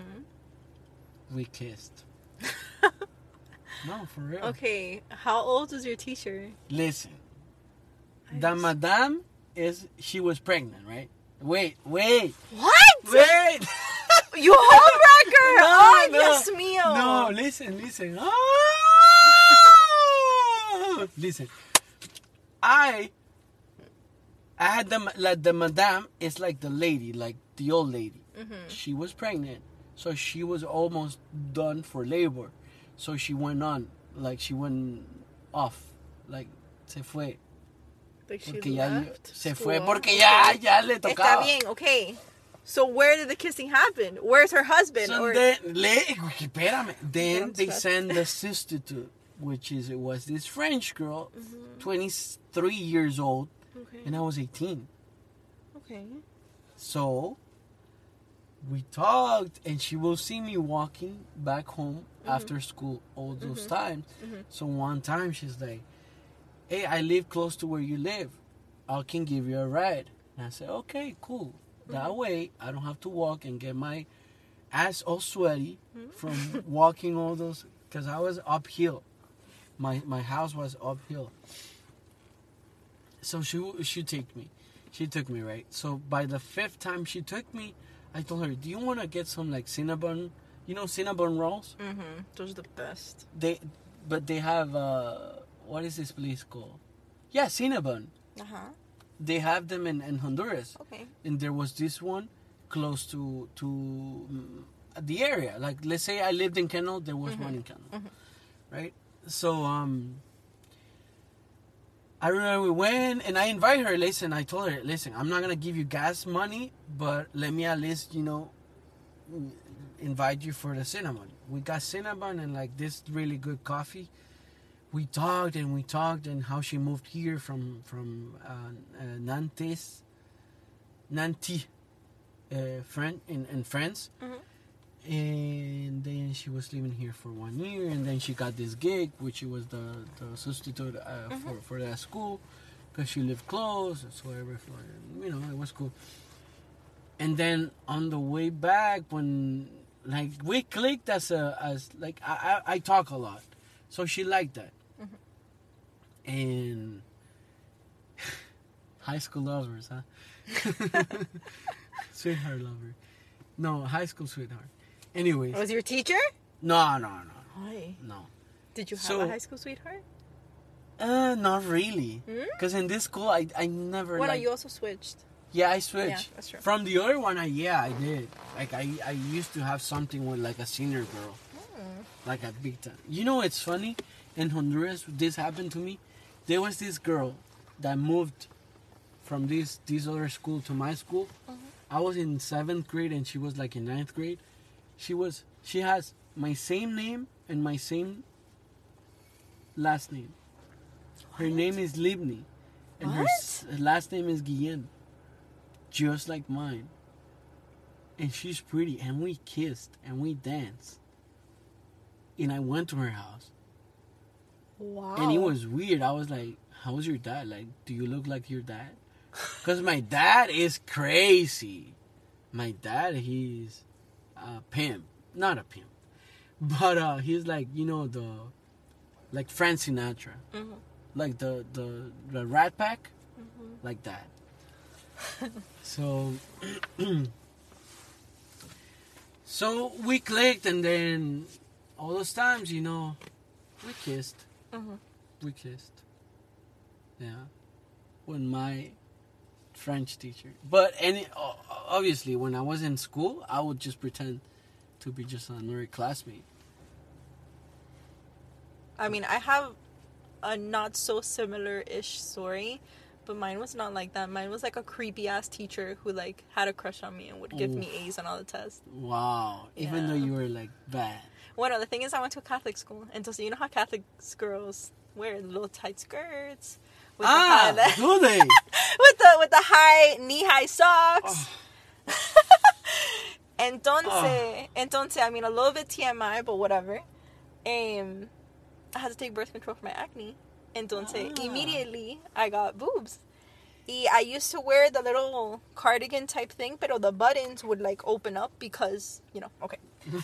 we kissed. No, for real. Okay, how old was your teacher? Listen, the madame she was pregnant, right? Wait. What? Wait! You homewrecker! No, Oh, no. Dios mío! No, listen. Oh! Listen. I had the madame is like the lady, like the old lady. She was pregnant, so she was almost done for labor. So she went on, like she went off, like se fue. Like she Porque left se school. fue porque ya le tocaba. Está bien, okay. So where did the kissing happen? Where's her husband? So then they send the substitute, which was this French girl, 23 years old, and I was 18. Okay. So we talked, and she will see me walking back home after school all those times. So one time she's like, hey, I live close to where you live. I can give you a ride. And I said, okay, cool. That way, I don't have to walk and get my ass all sweaty from walking all those, because I was uphill. My house was uphill. So she took me. She took me, right? So by the 5th time she took me, I told her, do you want to get some like Cinnabon? You know Cinnabon rolls? Those are the best. They have, what is this place called? Yeah, Cinnabon. They have them in Honduras. Okay. And there was this one close to the area. Like, let's say I lived in Kendall, there was one in Kendall. Right? So, I remember we went, and I invited her. Listen, I told her, listen, I'm not going to give you gas money, but let me at least, invite you for the cinnamon. We got cinnamon and like this really good coffee. We talked and how she moved here from Nantes, in France. And then she was living here for 1 year, and then she got this gig, which was the substitute for that school, because she lived close, so it was cool. And then on the way back, when like we clicked as I talk a lot, so she liked that. And high school lovers, huh? Sweetheart lover. No, high school sweetheart. Anyways. Was your teacher? No. Why? No. Did you have a high school sweetheart? Not really. Because in this school, I never. Well, you also switched. Yeah, I switched. Yeah, that's true. From the other one, I did. Like, I used to have something with, like, a senior girl. Like, a big time. You know, it's funny. In Honduras, this happened to me. There was this girl that moved from this other school to my school. I was in 7th grade, and she was, like, in 9th grade. She has my same name and my same last name. Her name is Libni. And her last name is Guillen. Just like mine. And she's pretty. And we kissed. And we danced. And I went to her house. Wow. And it was weird. I was like, how's your dad? Like, do you look like your dad? Because my dad is crazy. My dad, he's a pimp. Not a pimp. But he's like, you know, like Frank Sinatra. Mm-hmm. Like the Rat Pack. Mm-hmm. Like that. So we clicked, and then all those times, you know, we kissed. Mm-hmm. We kissed. Yeah. With my French teacher. But obviously, when I was in school, I would just pretend to be just another classmate. I mean, I have a not so similar-ish story. But mine was not like that. Mine was like a creepy-ass teacher who, like, had a crush on me and would give me A's on all the tests. Wow. Yeah. Even though you were, like, bad. Well, no, the thing is I went to a Catholic school. And so you know how Catholic girls wear little tight skirts? With do they? with the high, knee-high socks. Oh. Entonces, I mean, a little bit TMI, but whatever. I had to take birth control for my acne. Entonces, immediately, I got boobs. I used to wear the little cardigan type thing, pero the buttons would, like, open up because, you know, okay.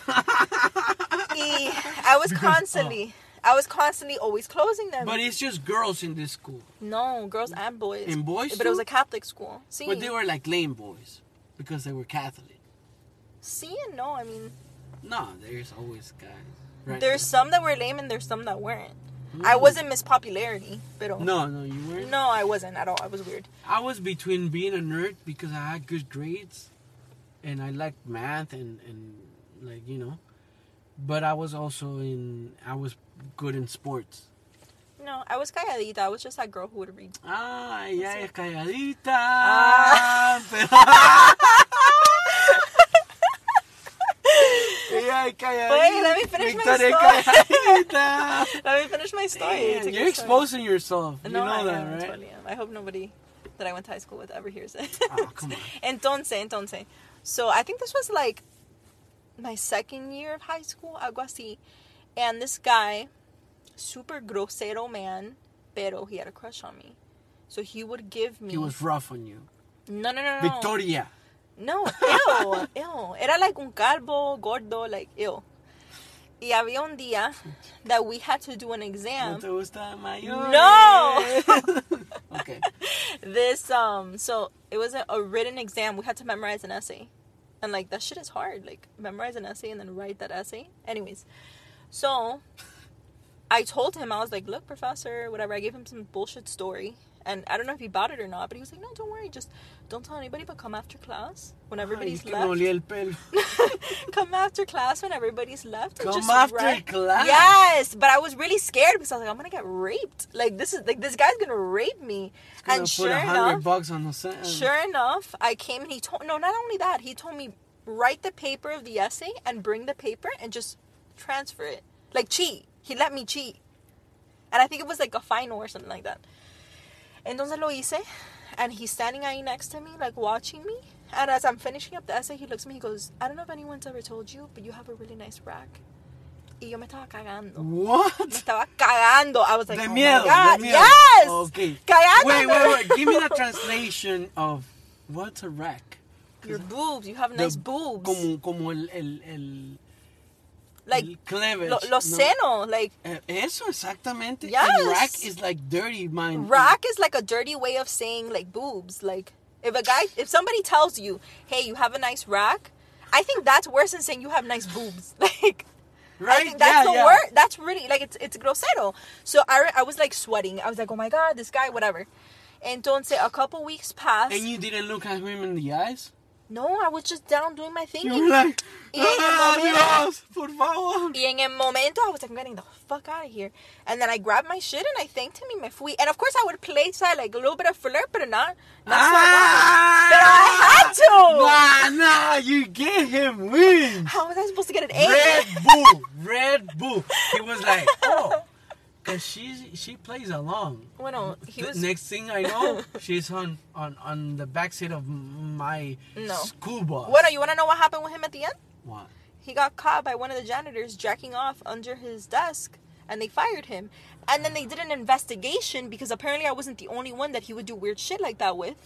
I was constantly always closing them. But it's just girls in this school. No, girls and boys. And boys But it was a Catholic school. Sí. But they were, like, lame boys because they were Catholic. Sí and no, I mean. No, there's always guys. Right? There's some that were lame and there's some that weren't. I wasn't Miss Popularity, pero... No, you weren't? No, I wasn't at all. I was weird. I was between being a nerd because I had good grades and I liked math and like, you know. But I was also I was good in sports. No, I was calladita. I was just that girl who would read. Ah, ella es calladita. Wait, let me finish my story. Let me finish my story. Man, you're exposing yourself. No, you know I that, am, right? Totally am. I hope nobody that I went to high school with ever hears it. Oh, come on. Entonces. So I think this was like my second year of high school, algo así. And this guy, super grosero man, pero he had a crush on me. So he would give me... He was rough on you. No. Victoria. No, ew. Era like un calvo, gordo, like, ew. Y había un día that we had to do an exam. ¿No te gusta mayor? No! Okay. So it was a written exam. We had to memorize an essay. And, like, that shit is hard. Like, memorize an essay and then write that essay. Anyways. So, I told him, I was like, look, professor, whatever. I gave him some bullshit story. And I don't know if he bought it or not, but he was like, no, don't worry. Just don't tell anybody, but come after class when everybody's left. El pelo. Come after class when everybody's left. And come after class? Yes, but I was really scared because I was like, I'm going to get raped. Like, this guy's going to rape me. And sure enough, $100 on the set. Sure enough, I came and he told, no, not only that, he told me, write the paper of the essay and bring the paper and just transfer it. Like, cheat. He let me cheat. And I think it was like a final or something like that. Entonces lo hice, and he's standing ahí next to me, like, watching me. And as I'm finishing up the essay, he looks at me, he goes, I don't know if anyone's ever told you, but you have a really nice rack. Y yo me estaba cagando. What? Me estaba cagando. I was like, de oh miedo, my God. De miedo. Yes! Okay. Cagándome. Wait. Give me the translation of what's a rack. Your boobs. You have nice boobs. Como el like cleavage. Los senos, like eso exactamente. Yes. And rack is like dirty, man. Rack is like a dirty way of saying like boobs. Like if somebody tells you, hey, you have a nice rack, I think that's worse than saying you have nice boobs. Like, right? I think that's the word. That's really like it's grosero. So I was like sweating. I was like, oh my god, this guy, whatever. Entonces a couple weeks passed. And you didn't look at him in the eyes? No, I was just down doing my thing. You were like, Dios, por favor. Y en el momento, I was like, I'm getting the fuck out of here. And then I grabbed my shit and I thanked him y me fui. And of course, I would play side, like a little bit of flirt, but not so much. But I had to. Nah, you gave him wings. How was I supposed to get an A? Red Bull. He was like, oh. Because she plays along. Bueno, he was... Next thing I know, she's on the backseat of my school bus. Bueno, you want to know what happened with him at the end? What? He got caught by one of the janitors jacking off under his desk, and they fired him. And then they did an investigation, because apparently I wasn't the only one that he would do weird shit like that with.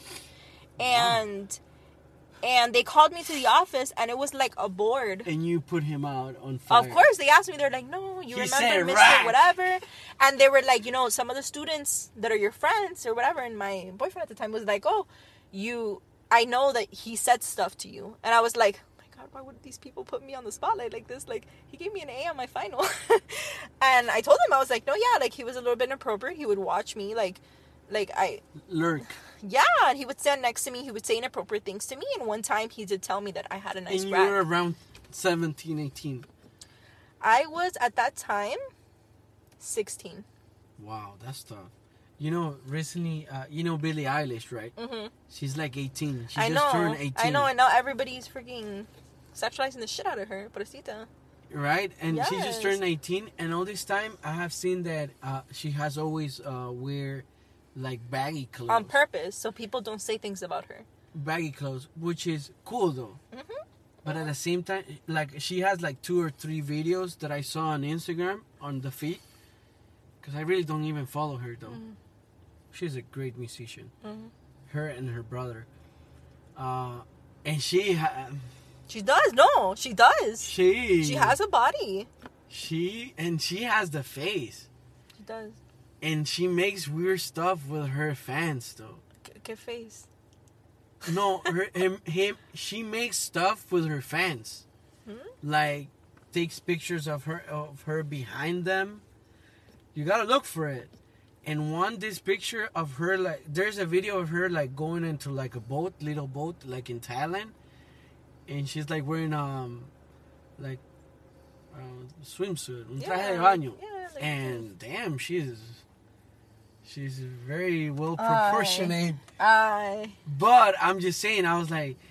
And they called me to the office, and it was like a board. And you put him out on fire. Of course, they asked me. They're like, no, you remember Mr. Whatever. And they were like, some of the students that are your friends or whatever. And my boyfriend at the time was like, oh, I know that he said stuff to you. And I was like, oh my God, why would these people put me on the spotlight like this? Like, he gave me an A on my final. And I told him, I was like, no, yeah, like, he was a little bit inappropriate. He would watch me, like I... Lurk. Yeah, and he would stand next to me. He would say inappropriate things to me. And one time he did tell me that I had a nice rack. And you were around 17, 18. I was, at that time, 16. Wow, that's tough. Recently, Billie Eilish, right? Mm-hmm. She's like 18. She just turned 18. I know, and now everybody's freaking sexualizing the shit out of her. Pobrecita. Right? And she just turned 18. And all this time, I have seen that she has always wear... like baggy clothes on purpose, so people don't say things about her. Baggy clothes, which is cool though. Mm-hmm. But at the same time, like she has like 2 or 3 videos that I saw on Instagram on the feed, because I really don't even follow her though. Mm-hmm. She's a great musician. Mm-hmm. Her and her brother, and she does. No, she does. She has a body. She has the face. She does. And she makes weird stuff with her fans, though. ¿Qué face? No, she makes stuff with her fans. Like, takes pictures of her behind them. You gotta look for it. And this picture of her, like, there's a video of her, like, going into, like, a little boat, like, in Thailand. And she's, like, wearing, swimsuit, un traje de baño. Yeah, like, and, damn, She's very well proportionate. But I'm just saying, I was like,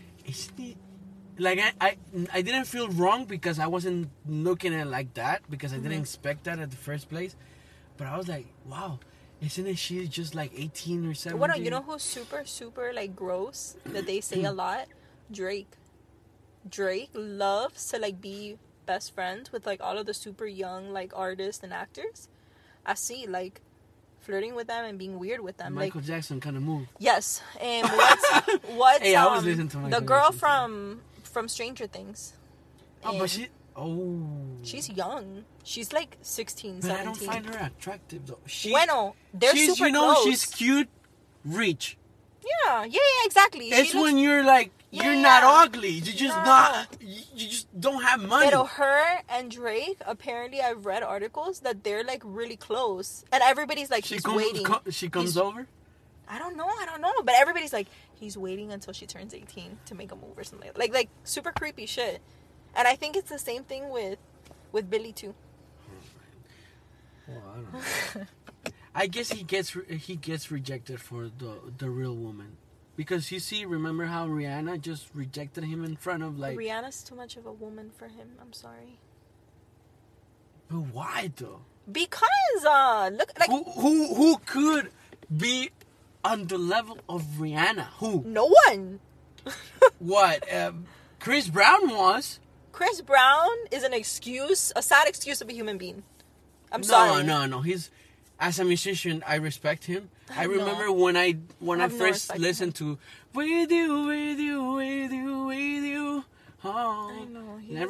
I didn't feel wrong because I wasn't looking at it like that, because I didn't expect that at the first place. But I was like, wow, isn't she just like 18 or 17? Well, you know who's super, super like gross that they say a lot? Drake. Drake loves to like be best friends with like all of the super young like artists and actors. I see like flirting with them and being weird with them. Michael Jackson kind of move. Yes. And what's hey, I was listening to Michael the girl Jackson from Stranger Things. Oh, but she's young. She's like 16, 17. But I don't find her attractive though. They're super close. She's cute, rich. Yeah, exactly. It's when you're like, you're not ugly. You just don't have money. But her and Drake, apparently I've read articles that they're like really close. And everybody's like, he's waiting. She comes over? I don't know. But everybody's like, he's waiting until she turns 18 to make a move or something. Like super creepy shit. And I think it's the same thing with Billy too. Well, I don't know. I guess he gets rejected for the real woman. Because remember how Rihanna just rejected him in front of like... Rihanna's too much of a woman for him. I'm sorry. But why though? Because look, like who could be on the level of Rihanna? Who? No one. What? Chris Brown was. Chris Brown is a sad excuse of a human being. I'm sorry. No. He's... As a musician, I respect him. I remember when I first listened to With You. Oh. I know. And I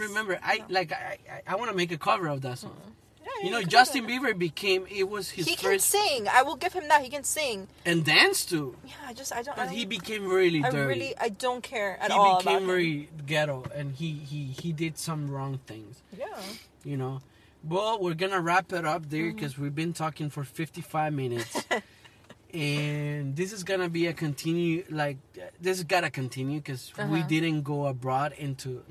remember. I want to make a cover of that song. Yeah, you know, Justin Bieber was his he first. He can sing. I will give him that. He can sing And dance too. Yeah, I don't. But he became really dirty. I don't care at all. He became very ghetto, and he did some wrong things. Yeah. You know. Well, we're gonna wrap it up there because we've been talking for 55 minutes. And this is gonna be a continue, like, this has gotta continue because we didn't go abroad into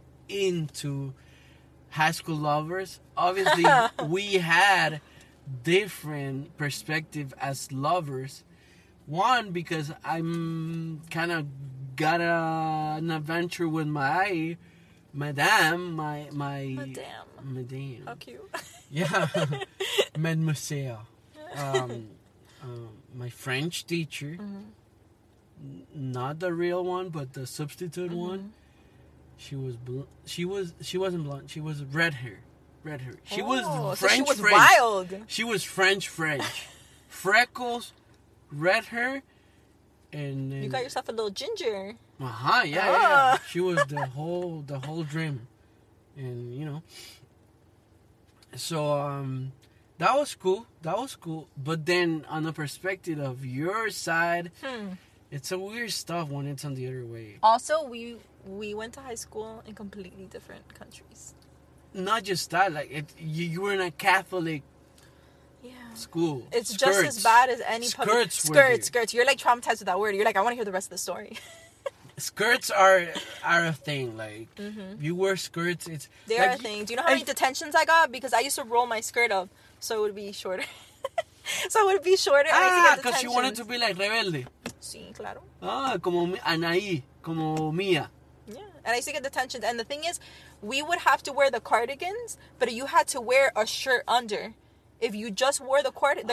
High School Lovers. Obviously, we had different perspective as lovers. One, because I'm kind of got an adventure with my madame. How cute. Yeah. Mademoiselle. My French teacher, not the real one, but the substitute one. She wasn't blonde. She was red hair. She was French. So she was wild. She was French. Freckles, red hair, and you got yourself a little ginger. Yeah. She was the whole dream, and you know. So that was cool. But then on the perspective of your side, it's a weird stuff when it's on the other way. Also, we went to high school in completely different countries. Not just that, like you were in a Catholic school. It's just as bad as any public skirts. You're like traumatized with that word. You're like, I want to hear the rest of the story. Skirts are a thing. Like you wear skirts, They're a thing. Do you know how many detentions I got because I used to roll my skirt up so it would be shorter? Because you wanted to be like rebelde. Sí, claro. Como Anaí, como Mia. Yeah, and I used to get detentions. And the thing is, we would have to wear the cardigans, but you had to wear a shirt under. If you just wore the cardigan.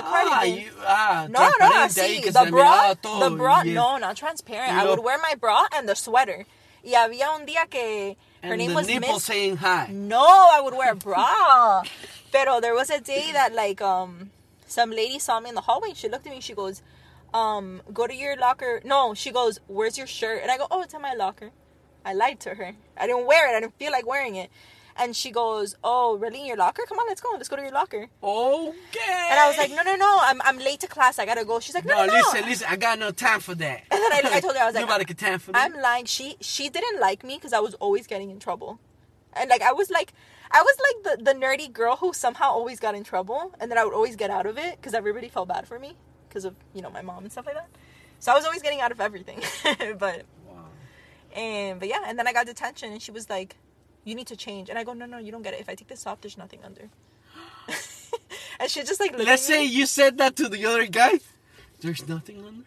Sí, the bra, no, not transparent. I would wear my bra and the sweater. Y había un día que her name was nipple saying hi. No, I would wear a bra. Pero there was a day that like some lady saw me in the hallway. She looked at me. She goes, "Go to your locker." No, she goes, "Where's your shirt?" And I go, "Oh, it's in my locker." I lied to her. I didn't wear it. I didn't feel like wearing it. And she goes, "Oh, really? In your locker? Come on, let's go. Let's go to your locker." Okay. And I was like, No. I'm late to class. I gotta go. She's like, No. Listen. I got no time for that. And then I told her, I was like, nobody got time for that. I'm lying. She didn't like me because I was always getting in trouble, and like I was like the nerdy girl who somehow always got in trouble, and then I would always get out of it because everybody felt bad for me because of my mom and stuff like that. So I was always getting out of everything, but yeah, and then I got detention, and she was like, "You need to change." And I go, No, you don't get it. If I take this off, there's nothing under. And she just like, let's say you said that to the other guy. There's nothing under.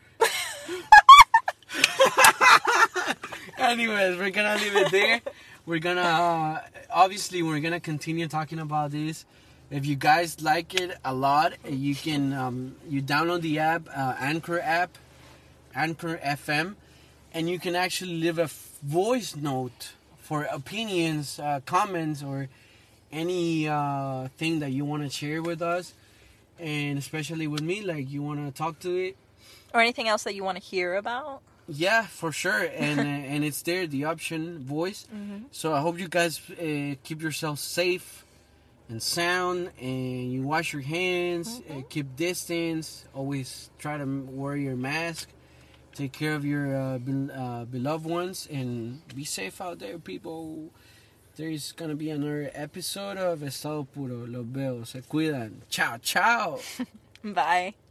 Anyways, we're gonna leave it there. We're gonna obviously we're gonna continue talking about this. If you guys like it a lot, you can you download the app, Anchor FM, and you can actually leave a voice note for opinions, comments, or any thing that you want to share with us, and especially with me, like you want to talk to it, or anything else that you want to hear about. Yeah, for sure, and and it's there, the option voice. So I hope you guys keep yourself safe and sound, and you wash your hands, keep distance, always try to wear your mask, take care of your beloved ones, and be safe out there, people. There's gonna be another episode of Estado Puro. Los veo, se cuidan. Ciao, ciao. Bye.